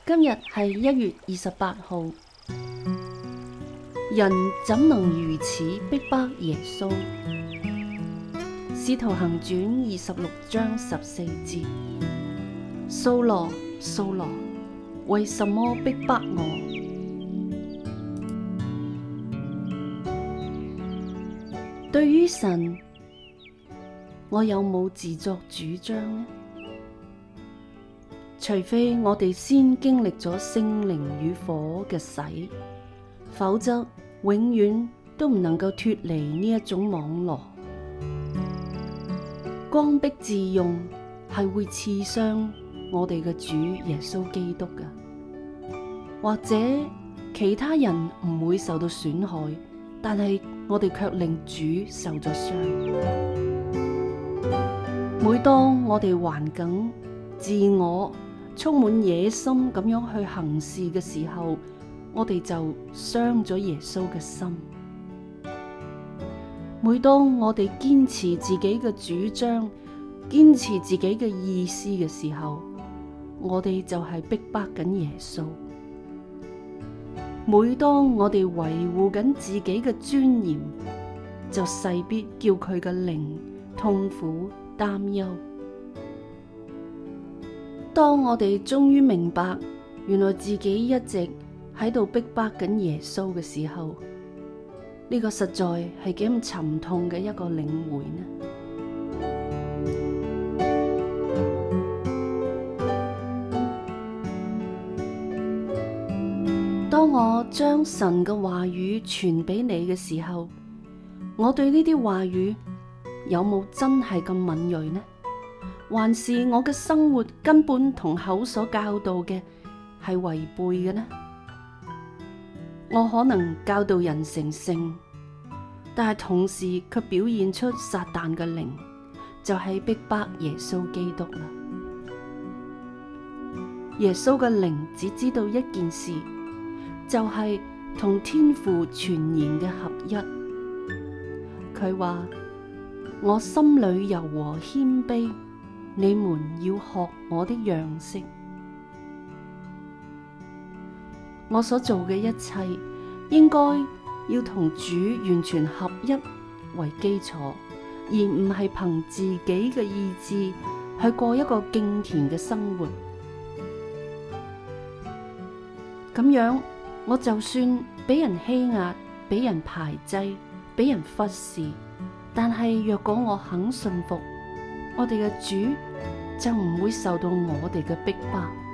今日係1月28號，人怎能如此逼迫耶穌？使徒行傳26章14節：掃羅，掃羅，為什麼逼迫我？對於神，我有冇自作主張呢？除非我哋先經歷咗聖靈與火嘅洗，否則永遠都唔能夠脫離呢一種網羅。剛愎自用係會刺傷我哋嘅主耶穌基督嘅，或者其他人唔會受到損害，但係我哋卻令主受咗傷。每當我哋頑梗自我充滿野心咁樣去行事嘅時候，我哋就傷咗耶穌嘅心。每當我哋堅持自己嘅主張，堅持自己嘅意思嘅時候，我哋就係逼迫緊耶穌。每當我哋維護緊自己嘅尊嚴，就勢必叫佢嘅靈痛苦擔憂。當我哋終於明白，原來自己一直喺度逼迫緊耶穌嘅時候，呢個實在係幾咁沉痛嘅一個領會呢？當我將神嘅話語傳俾你嘅時候，我對呢啲話語有冇真係咁敏銳呢？還是我嘅生活根本同口所教導嘅係違背嘅呢？我可能教導人成聖，但係同時卻表現出撒旦嘅靈，就係逼迫耶穌基督啦。耶穌嘅靈只知道一件事，就係同天父全然嘅合一。佢話：我心裏柔和謙卑，你們要學我的樣式。我所做嘅一切，應該要同主完全合一為基礎，而唔係憑自己嘅意志去過一個敬虔嘅生活。咁樣，我就算俾人欺壓、俾人排擠、俾人忽視，但係若果我肯信服，我哋嘅主就唔會受到我哋嘅逼迫。